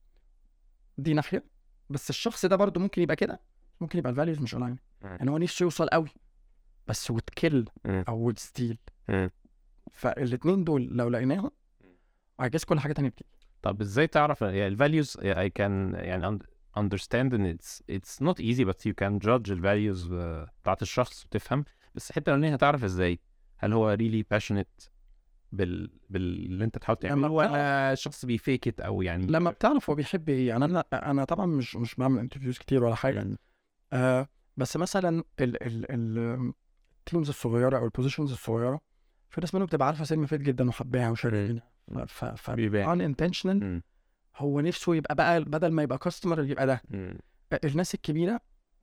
دي ناحيه. بس الشخص ده برضو ممكن يبقى كده، ممكن يبقى الفاليوز مش اونلاين، يعني هو نفسه يوصل قوي بس وتكل او وتستيل. فالاثنين دول لو لقيناهم I guess كل حاجه تانية بتيجي. طب ازاي تعرف يعني الفاليوز؟ I can يعني understand and it's not easy but you can judge الفاليوز بتاعت الشخص وتفهم. بس الحته الاولانيه هتعرف ازاي هل هو really passionate باللي انت تحاول تعمله ولا شخص بيفيكت او يعني لما بتعرف هو بيحب ايه. يعني انا طبعا مش بعمل انترفيوز كتير ولا حاجه بس مثلا التيمز الصغيره او البوزيشنز الصغيره في ناس منهم بتبقى عارفه سينما فيت جدا وحباها وشغالين unintentional هو نفسه يبقى بقى بدل ما يبقى كاستمر يبقى ده. الناس الكبيره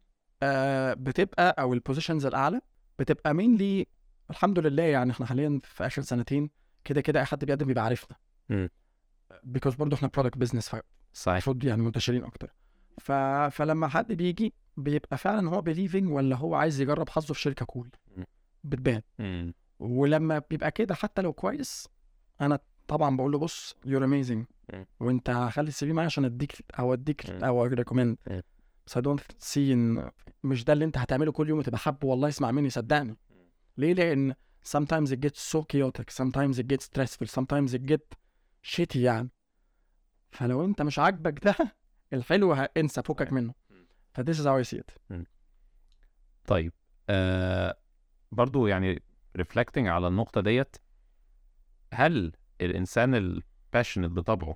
بتبقى او البوزيشنز الاعلى بتبقى mainly الحمد لله. يعني احنا حاليا في اخر سنتين كده اي حد بيقدم بيبقى عارفنا because برضو احنا product business صحيح يعني منتشرين اكتر. فلما حد بيجي بيبقى فعلا هو believing ولا هو عايز يجرب حظه في شركه كول بتبان. ولما بيبقى كده حتى لو كويس انا طبعا بقول له بص you're amazing وانت هخلي السي في معايا عشان اديك او ريكومند. بس I don't see ان مش ده اللي انت هتعمله كل يوم وتبقى حابه. والله اسمع مني صدقني. ليه؟ لان sometimes it gets so chaotic, sometimes it gets stressful, sometimes it gets shitty يعني. فلو انت مش عاجبك ده الحلو انسى فوقك منه. ف this is how I see it. طيب برضو يعني reflecting على النقطة ديت، هل الإنسان الباشنت بطبعه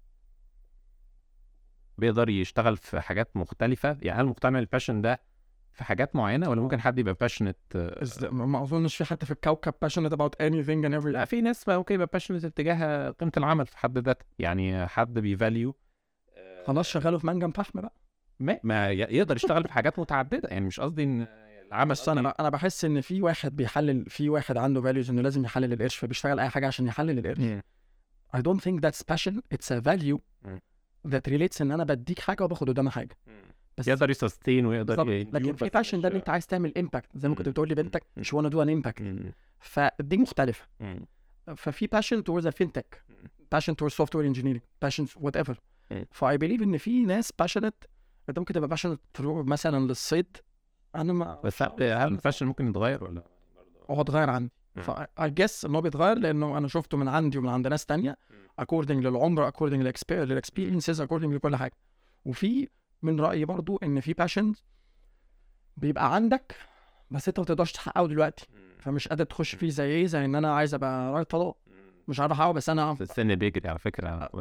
بيقدر يشتغل في حاجات مختلفة؟ يعني هل مقتنع الباشن ده في حاجات معينه، ولا ممكن حد يبقى passionate؟ ما اظنش في حد في الكوكب passionate about anything and everything. لا، في ناس ممكن يبقى passionate اتجاه قيمه العمل في حد ذاته، يعني حد بيفاليو خلاص شغاله في منجم فحم بقى. ما يقدر يشتغل في حاجات متعدده، يعني مش قصدي ان العمل. بس انا بحس ان في واحد بيحلل، في واحد عنده values انه لازم يحلل القرش، فبيشتغل اي حاجه عشان يحلل القرش. I don't think that's passion, it's a value that relates ان انا بديك حاجه وباخد قدامها حاجه، بس يقدر يسستين ويقدر لكن في passion ده ان انت عايز تعمل impact، زي ما كنت بتقول لي بنتك she wanna do an impact، فدي مختلفه. ففي passion towards a fintech, passion towards software engineering, passion whatever. I believe ان في ناس passionate، انت ممكن تبقى passionate مثلا للصيد. انا ما بس هل الفاشن ممكن يتغير ولا هو اتغير عندي؟ I guess ان هو بيتغير لانه انا شفته من عندي ومن عند ناس تانية according للعمر، according للexperiences، according لكل حاجه. وفي من رايي برضو ان في passion بيبقى عندك بس انت ما تقدرش تحققه دلوقتي، فمش قادر تخش فيه. زي ان انا عايز ابقى رائد فضاء، مش عارف احققه، بس انا السن بيجري على فكره.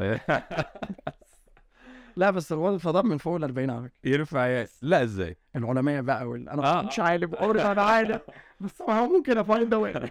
لا بس رواد الفضاء من فوق ال 40 على فكره ينفع لا ازاي العلماء بقى انا مش عارف انا عارف بس هو ممكن افايند واي.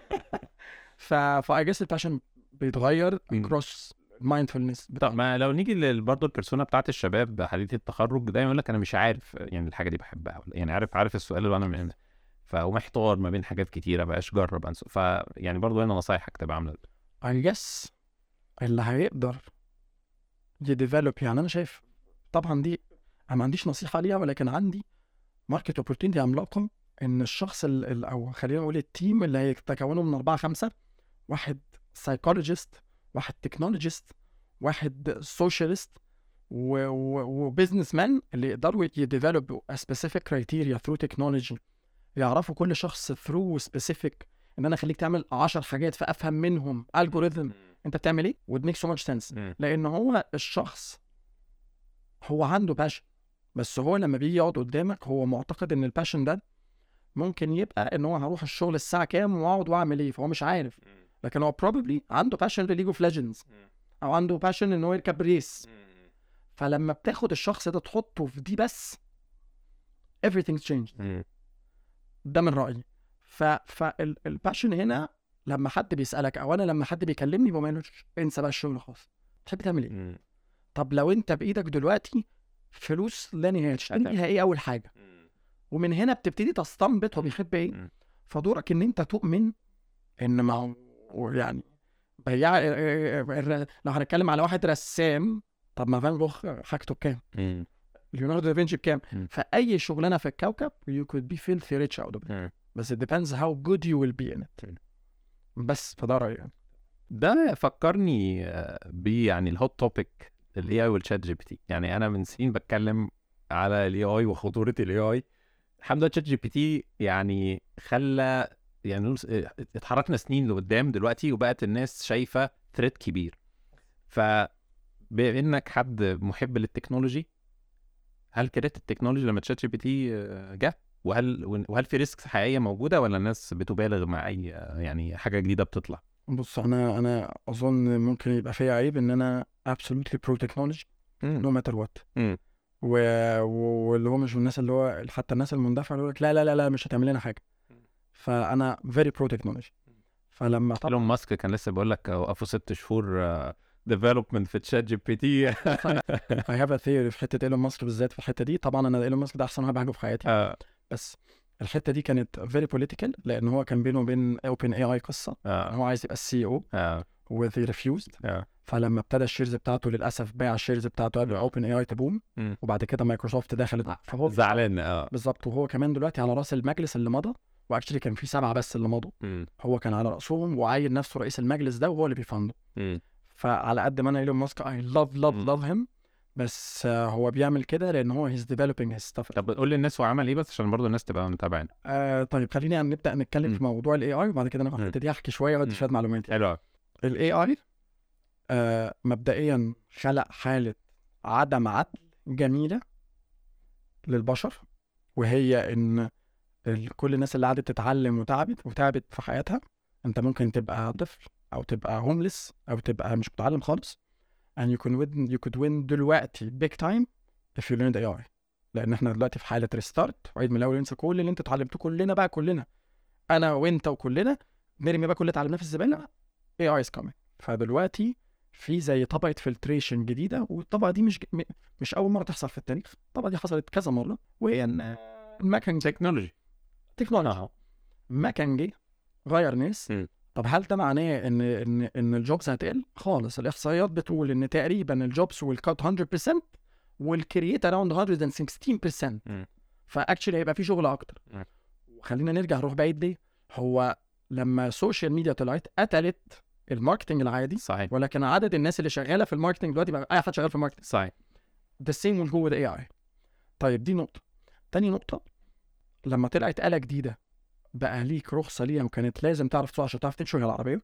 I guess الباشن بيتغير across mindfulness. طب ما لو نيجي برضه البيرسونا بتاعت الشباب حديث التخرج، دايما يقول لك انا مش عارف يعني الحاجه دي بحبها، يعني عارف السؤال اللي انا من فمحتار ما بين حاجات كتيره، بقاش جرب يعني برضه هنا نصايحك تبقى عامله I guess اللي هيقدر يديفلوب. يعني انا شايف طبعا دي انا ما عنديش نصيحه ليها، ولكن عندي ماركت اوبورتينتي عملاقه ان الشخص او خلينا نقول التيم اللي هيتكونوا من 4-5، واحد سايكولوجيست، واحد تكنولوجيست، واحد سوشيالست، وبزنس مان، اللي يقدروا يديفلوب سبيسيفيك كرايتيريا ثرو تكنولوجي، يعرفوا كل شخص ثرو سبيسيفيك ان انا اخليك تعمل 10 حاجات فافهم منهم الجوريثم انت بتعمل ايه would make so much sense. لان هو الشخص هو عنده باشن، بس هو لما بيجي يقعد قدامك هو معتقد ان الباشن ده ممكن يبقى ان هو هروح الشغل الساعه كام واقعد واعمل ايه، فهو مش عارف. لكن هو probably عنده باشن لليج اوف ليجندز، او عنده باشن ان هو يركب ريس. فلما بتاخد الشخص ده تحطه في دي بس everything's changed. ده من رايي. فالباشن هنا لما حد بيسالك، او انا لما حد بيكلمني بقولش انسى بقى الشغل خالص، تحب تعمل ايه؟ طب لو انت بايدك دلوقتي فلوس لا نهايه تشتريها ايه اول حاجه؟ ومن هنا بتبتدي تستنبط هو بيحب ايه. فدورك ان انت تؤمن ان ما هو يعني بياع. لو هنتكلم على واحد رسام، طب ما فان جوخ حاجته بكام؟ ليوناردو دافنشي بكام؟ فاي شغلانه في الكوكب you could be filthy rich out of it. بس it depends how good you will be in it. بس فده رأيي يعني. ده فكرني يعني الهوت توبيك الاي اي والشات جي بي تي. يعني انا من سنين بتكلم على الاي اي وخطوره الاي اي. الحمد لله شات جي بي تي يعني خلى يعني اتحركنا سنين لقدام دلوقتي، وبقت الناس شايفه ثريت كبير. فبانك حد محب للتكنولوجي، هل كرهت التكنولوجي لما شات جي بي تي جه؟ وهل في ريسكس حقيقيه موجوده، ولا الناس بتبالغ مع اي يعني حاجه جديده بتطلع؟ بص انا اظن ممكن يبقى فيها عيب ان انا absolutely pro technology no matter what. واللي هو مش من الناس اللي هو حتى الناس المندفعه اللي يقول لك لا لا لا لا مش هتعمل لنا حاجه. فانا very pro technology. فلما طبعا ايلون ماسك كان لسه بيقول لك وقفوا 6 شهور ديفلوبمنت في تشات جي بي تي. I have a theory في حته ايلون ماسك بالذات. في الحته دي طبعا انا ايلون ماسك ده احسن واحد بحبه في حياتي. بس الحته دي كانت very political، لان هو كان بينه وبين اوبن اي اي قصه. هو عايز يبقى السي او و they refused. فلما ابتدى الشيرز بتاعته للاسف باع الشيرز بتاعته قبل اوبن اي اي تبوم. وبعد كده مايكروسوفت دخلت، فهو زعلان. بالظبط. وهو كمان دلوقتي على راس المجلس اللي مضى، واكشلي كان في 7 بس اللي مضوا. هو كان على راسهم وعين نفسه رئيس المجلس ده، وهو اللي بيفنده. فعلى قد ما انا ايلون ماسك I love him، بس هو بيعمل كده لان هو he's developing his stuff. طب قول للناس هو عمل ايه بس عشان برضو الناس تبقى متابعين. طيب خلينا نبدا نتكلم في موضوع الاي اي، وبعد كده انا هبتدي احكي شويه وادي شويه معلومات. حلو. الاي اي مبدئيا خلق حاله عدم عدل جميله للبشر، وهي ان كل الناس اللي قعدت تتعلم وتعبت في حياتها، انت ممكن تبقى طفل او تبقى هوملس او تبقى مش متعلم خالص، and you could win دلوقتي big time if you learned AI. لان احنا دلوقتي في حاله ريستارت وعيد من الاول، ننسى كل اللي انت اتعلمته، كلنا انا وانت وكلنا نرمي بقى كل اللي اتعلمناه في الزباله. AI is coming. فدلوقتي في زي طبقه فلتريشن جديده، والطبقه دي مش اول مره تحصل في التاريخ، الطبقه دي حصلت كذا مره، وهي ان المكن تكنولوجي مكن جه غير ناس. طب هل ده معناه ان الجوبز هتقل؟ خالص. الاحصائيات بتقول ان تقريبا الجوبز will cut 100% والكرييت around 116%. فاكشلي هيبقى في شغل اكتر. وخلينا نروح بعيد ليه. هو لما السوشيال ميديا طلعت قتلت الماركتنج العادي، صحيح، ولكن عدد الناس اللي شغاله في الماركتنج دلوقتي بقى اي حد شغال في الماركتنج. صحيح. the same will go with AI. طيب دي نقطه. تاني نقطه، لما طلعت آلة جديده بقى ليك رخصه ليها وكانت لازم تعرف تسوق عشان تعرف تمشي العربيه.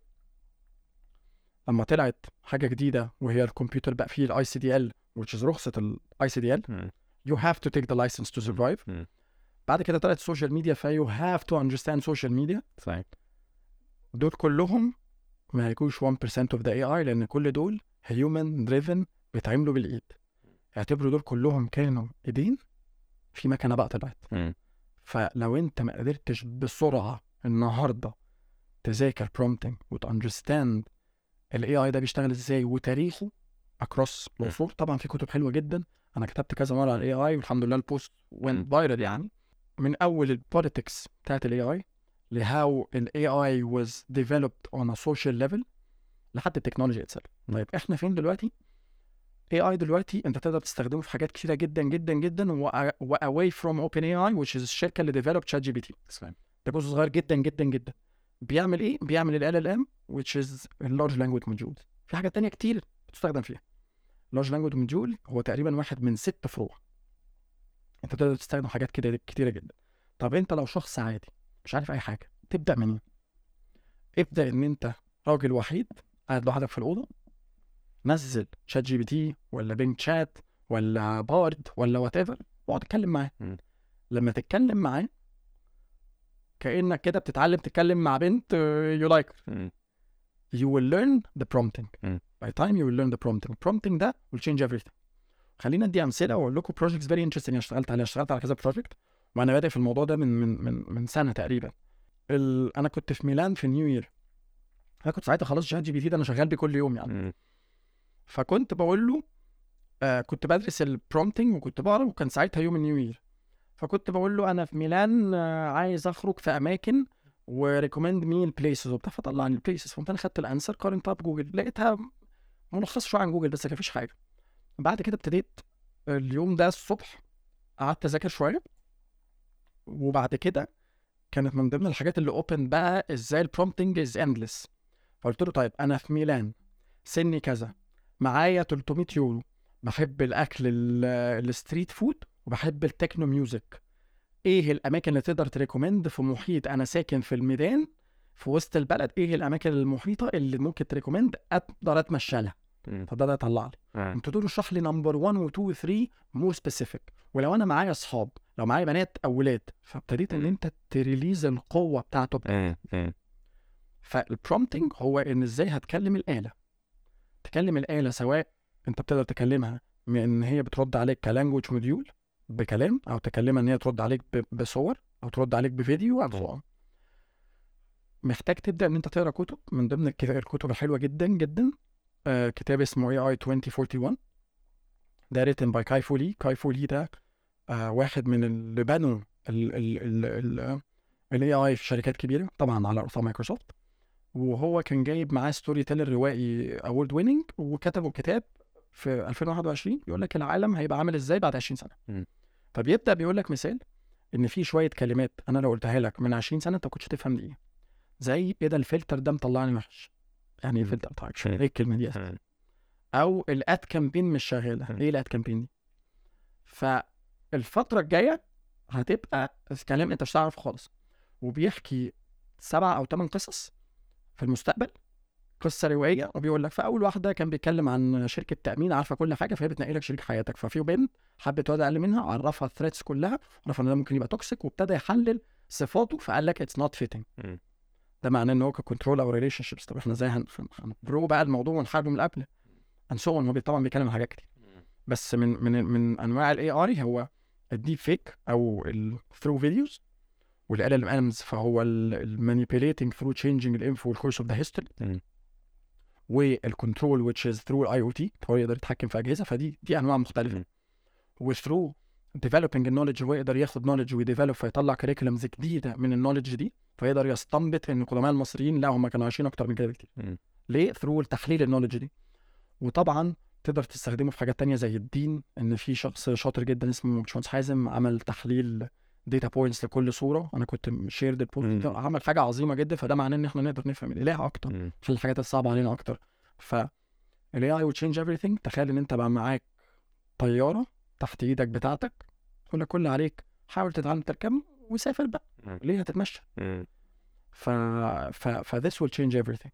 لما طلعت حاجه جديده وهي الكمبيوتر بقى فيه الاي سي دي ال which is رخصه الاي سي دي ال you have to take the license to survive. بعد كده طلعت السوشيال ميديا you have to understand social media. صحيح. دول كلهم ما يكونش 1% of the AI، لان كل دول human driven بيتعملوا بالايد. اعتبروا دول كلهم كانوا ايدين في مكنه بقى طلعت. فلو انت ما قدرتش بسرعه النهارده تذاكر prompting وتاندرستاند الاي اي ده بيشتغل ازاي وتاريخه اكروس العصور. طبعا في كتب حلوه جدا، انا كتبت كذا مره على الاي اي والحمد لله البوست وين فايرال، يعني من اول البوليتكس بتاعت الاي اي لهاو الاي اي واز ديفلوبد اون ا سوشيال ليفل لحد التكنولوجي اتسلف. طيب احنا فين دلوقتي؟ اي اي دلوقتي انت تقدر تستخدمه في حاجات كتيره جدا جدا جدا واواي فروم اوبن اي اي which is الشركه اللي ديفلوبد شات جي بي تي. ده جزء صغير جدا جدا جدا. بيعمل ايه؟ بيعمل ال LLM which is اللارج لانجويج موديول. في حاجات تانية كتير بتستخدم فيها. اللارج لانجويج موديول هو تقريبا واحد من 6 فروع. انت تقدر تستخدم حاجات كده كتيره جدا. طب انت لو شخص عادي مش عارف اي حاجه تبدا منين؟ ابدا ان انت راجل وحيد قاعد لوحدك في الاوضه، نزل شات جي بي تي ولا بينج شات ولا بارد ولا وات ايفر واقعد اتكلم معاه. لما تتكلم معاه كانك كده بتتعلم تتكلم مع بنت you like her. you will learn the prompting. by time you will learn the prompting ده will change everything. خلينا ادي امثله واقول لكم projects very interesting انا اشتغلت على كذا project، وانا بادئ في الموضوع ده من سنه تقريبا. انا كنت في ميلان في نيو يير. انا كنت ساعتها خلاص شات جي بي تي ده انا شغال بيه كل يوم يعني. فكنت بقول له كنت بدرس البرومبتنج وكنت بقرا، وكان ساعتها يوم النيو يير. فكنت بقول له انا في ميلان عايز اخرج في اماكن وريكومند مي البليسز وبتاع، فطلع لي البليسز. فقمت انا خدت الانسر قارنتها بجوجل، لقيتها ملخص شويه عن جوجل بس كان مفيش حاجه. بعد كده ابتديت اليوم ده الصبح قعدت اذاكر شويه، وبعد كده كانت من ضمن الحاجات اللي اوبن بقى ازاي البرومبتنج از اندلس. فقلت له طيب انا في ميلان سني كذا، معايا 300 يورو، بحب الاكل الستريت فود وبحب التكنو ميوزك، ايه الاماكن اللي تقدر تريكومند في محيط انا ساكن في الميدان في وسط البلد، ايه الاماكن المحيطه اللي ممكن تريكومند اقدر اتمشى لها. فبدا يطلع لي قلت له اشرح لي نمبر 1 و 2 و 3 مور سبيسيفيك، ولو انا معايا اصحاب لو معايا بنات او ولاد. فابتديت ان انت تريليز القوه بتاعته. فالبرومبتنج هو ان ازاي هتكلم الاله. تكلم الاله سواء انت بتقدر تكلمها من ان هي بترد عليك كلانجوج موديول بكلام، او تكلمها ان هي ترد عليك بصور، او ترد عليك بفيديو او صور. محتاج تبدا ان انت تقرا كتب. من ضمن الكتب الحلوه جدا جدا كتاب اسمه AI 2041 ده written by كاي فولي. كاي فولي ده واحد من اللي بنوا ال AI في شركات كبيره طبعا على رأسها مايكروسوفت، وهو كان جايب معاه ستوري تيلر روائي اوورد ويننج، وكتبوا كتاب في 2021 بيقول لك العالم هيبقى عامل ازاي بعد 20 سنه. فبيبدا بيقول لك مثال ان في شويه كلمات انا لو قلتها لك من 20 سنه انت كنتش تفهم دي ايه. زي ايه ده الفلتر ده مطلعني وحش، يعني ايه الفلتر بتاعك ايه الكلمه دي أساسا. او الاد كامبين مش شغاله، ايه الاد كامبين دي. فالفتره الجايه هتبقى كلام انت مش هتعرف خالص. وبيحكي 7 أو 8 قصص في المستقبل، قصه روائيه، وبيقول لك في اول واحده كان بيتكلم عن شركه تامين عارفه كل حاجه فهي بتنقي لك شريك حياتك. ففي بنت حبت واد اقل منها، عرفها الثريتس كلها، عرف ان ده ممكن يبقى توكسيك، وابتدى يحلل صفاته فقال لك اتس نوت فيتنج. ده معناه ان هو ككنترول او ريليشن شيبس. طب احنا ازاي هنبرو بقى الموضوع ونحاربه من قبل انسون. هو طبعا بيتكلم عن حاجات كتير، بس من انواع الاي اي هو الديب فيك او الثرو فيديوز، والال ال امز فهو المانيبيوليتنج ثرو تشينجينج الانفو والكورس اوف ذا هيستوري، والكنترول which is through الاي او تي، هو يقدر يتحكم في اجهزه. فدي انواع مختلفه. وثرو developing النولج، هو يقدر ياخد نولج ويديفلوب فيطلع كريكولمز جديده من النولج دي، فيقدر يستنبط ان القدماء المصريين لا هم كانوا عايشين اكتر من كده بكتير. ليه؟ ثرو تحليل النولج دي. وطبعا تقدر تستخدمه في حاجات تانية زي الدين، ان في شخص شاطر جدا اسمه باشمهندس حازم عمل تحليل داتا بوينتس لكل صوره، انا كنت شيرد البوست، عمل حاجه عظيمه جدا. فده معناه ان احنا نقدر نفهم الاله اكتر في الحاجات الصعبه علينا اكتر. فالاي اي will change everything. تخيل ان انت بقى معاك طياره تحت ايدك بتاعتك، كل اللي عليك حاول تتعلم تركب وسافر بقى، ليه هتتمشى؟ this will change everything.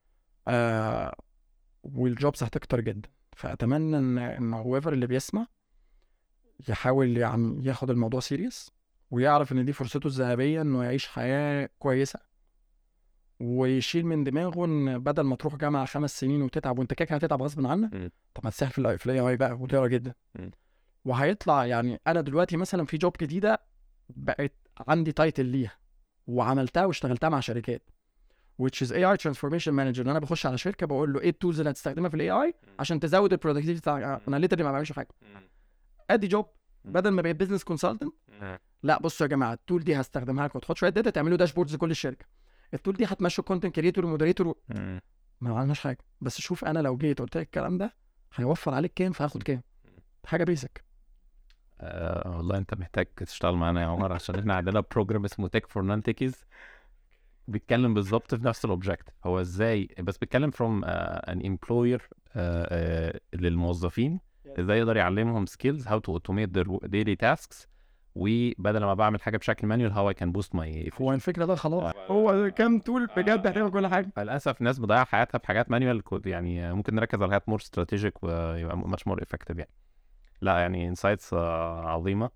والجوبز هتكتر جدا. فأتمنى إن whoever اللي بيسمع يحاول يعني ياخد الموضوع سيريس، ويعرف إن دي فرصته الذهبية إنه يعيش حياة كويسة، ويشيل من دماغه إن بدل ما تروح جامعة 5 سنين وتتعب، وأنت كده هتتعب غصب عنك، طب ما تسهل في الاي اي بقى وتقرا جدا. وهيطلع يعني أنا دلوقتي مثلا في جوب جديدة بقت عندي تايتل ليها وعملتها واشتغلتها مع شركات which is AI transformation manager. انا بخش على شركه بقول له ايه التولز اللي هتستخدمها في الاي اي عشان تزود البرودكتيفيتي بتاعك. انا ليترلي ما بعملش حاجه، ادي جوب. بدل ما بقيت بزنس كونسلتنت، لا بصوا يا جماعه التول دي هستخدمها لكم، تاخد شويه داتا تعملوا داشبوردز لكل الشركه. التول دي هتمشوا كونتنت كريتور ومودريتور ما عملناش حاجه. بس شوف انا لو جيت قلت لك الكلام ده هيوفر عليك كام، فهاخد كام. حاجه بيسك. والله انت محتاج تشتغل معانا يا عمر، عشان احنا عندنا بروجرام اسمه تك فور نون تيكيز بيتكلم بالظبط في نفس الاوبجكت. هو ازاي بس بيتكلم from an employer للموظفين، ازاي يقدر يعلمهم skills how to automate their daily tasks، وبدل ما بعمل حاجه بشكل مانيوال how I can boost my هو الفكره ده خلاص هو كام تول بجد هتعمل كل حاجه. للاسف الناس بتضيع حياتها في حاجات مانيوال، يعني ممكن نركز على حاجات مور استراتيجيك ويبقى much more effective يعني. لا يعني انسايتس عظيمه.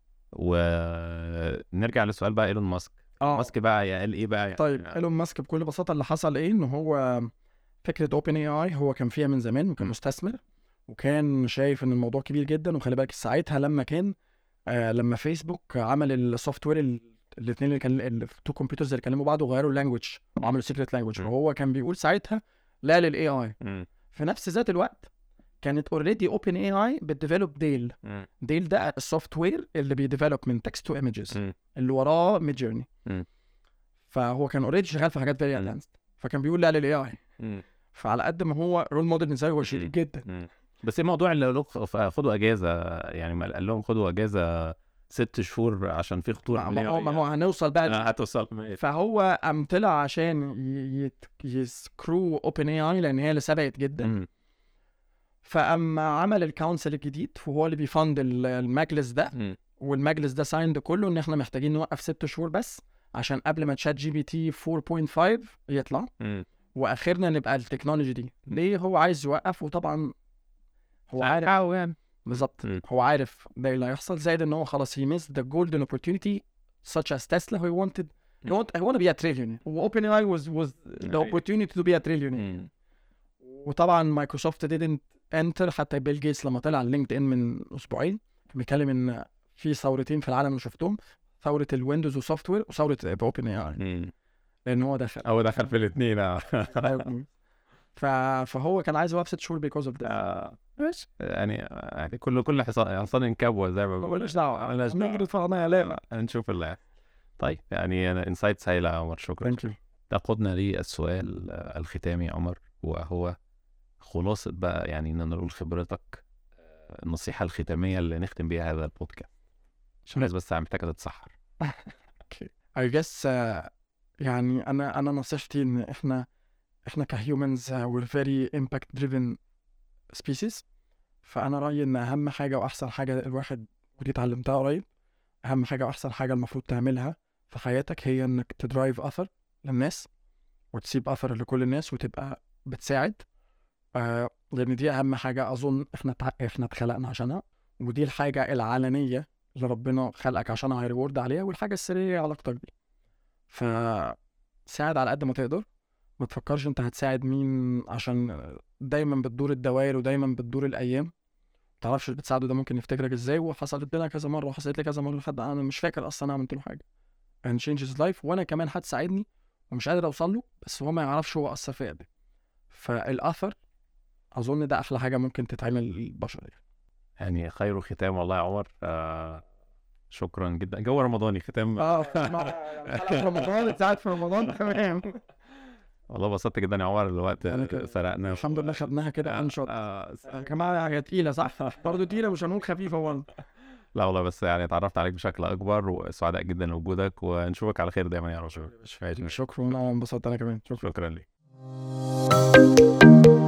ونرجع للسؤال بقى، ايلون ماسك. ماسك بقى قال ايه بقى يعني؟ طيب ايلون ماسك بكل بساطه اللي حصل ايه، ان هو فكره اوبن اي اي هو كان فيها من زمان، وكان مستثمر، وكان شايف ان الموضوع كبير جدا. وخلي بالك ساعتها لما كان لما فيسبوك عمل السوفت وير، الاثنين اللي كان التو كمبيوترز اللي كلموا بعض وغيروا اللانجوج وعملوا سيكريت لانجوج، وهو كان بيقول ساعتها لا للاي اي. في نفس ذات الوقت كانت اوريدي اوبن اي اي بتديفلوب ديل. ديل ده السوفت وير اللي بيديفلوب من تكست تو ايمجز اللي وراه ميد جيرني. فهو كان اوريدي شغال في حاجات فيري ادفانسد، فكان بيقول لا للاي اي. فعلى قد ما هو رول موديل نسائي هو شديد جدا. بس ايه موضوع اللي خدوا اجازه؟ يعني ما قال لهم خدوا اجازه 6 شهور عشان في خطوره؟ ما هو هنوصل بقى هتوصل. فهو قام طلع عشان يسكرو اوبن اي اي لان هي اللي سبقت جدا. فاما عمل الكونسل الجديد وهو اللي بيفند المجلس ده، والمجلس ده سايند كله ان احنا محتاجين نوقف 6 شهور بس عشان قبل ما تشات جي بي تي 4.5 يطلع واخرنا نبقى التكنولوجي دي. ليه هو عايز يوقف؟ وطبعا هو عارف يعني بالظبط، هو عارف ده اللي هيحصل. زائد ان هو خلاص he missed the golden opportunity such as Tesla. he wanted to be a trillionaire. OpenAI was the opportunity to be a trillionaire. وطبعا مايكروسوفت didn't enter. حتى بيل جيتس لما طلع على لينكد ان من اسبوعين كان بيتكلم ان في ثورتين في العالم اللي شفتهم، ثوره الويندوز وسوفت وير وثوره اوبن اي اي، لان هو دخل في الاثنين. فهو كان عايز يوقف 6 شهور because of that. ماشي يعني كل حصان ينكبوه زي ما بيقولوا. مالناش دعوه هنشوف اللي طيب. يعني انسايتس هايله يا عمر، شكرا. تقودنا للسؤال الختامي يا عمر، وهو خلاصة بقى يعني ان نقول خبرتك، النصيحة الختامية اللي نختم بيها هذا البودكاست. الناس بس محتاجة تتسحر. I guess يعني انا نصيحتي ان احنا كهيومنز we're very impact driven species. فانا رأيي ان اهم حاجة واحسن حاجة الواحد، ودي اتعلمتها قريب، اهم حاجة واحسن حاجة المفروض تعملها في حياتك هي انك تدرايف اثر للناس وتسيب اثر لكل الناس وتبقى بتساعد. لان دي اهم حاجه اظن احنا اتخلقنا عشانها، ودي الحاجه العلنيه اللي ربنا خلقك عشانها هيريورد عليها، والحاجه السريه علاقتك بيه. فساعد على قد ما تقدر، ما تفكرش انت هتساعد مين، عشان دايما بتدور الدوائر ودايما بتدور الايام تعرفش اللي بتساعده ده ممكن يفتكرك ازاي. وحصلت لنا كذا مره وحصلت لي كذا مره لحد انا مش فاكر اصلا انا عملت له حاجه and changes life. وانا كمان حد ساعدني ومش قادر اوصل له بس هو ما يعرفش هو اثر فيا قد ايه. فالاثر اظن ده احلى حاجه ممكن تتعمل للبشر يعني خير ختام والله يا عمر. شكرا جدا. جو رمضاني ختام. حلقة رمضان ساعات في رمضان تمام. والله بسطت جدا يا عمر. الوقت أنا سرقنا الحمد لله خدناها كده انشط. كمان هي تقيله صح برضه تقيله مش هنقول خفيفه برضه. لا والله بس يعني اتعرفت عليك بشكل اكبر وسعداء جدا لوجودك ونشوفك على خير دايما يا رجل. شكرا انا انبسطت انا كمان. شكرا لك.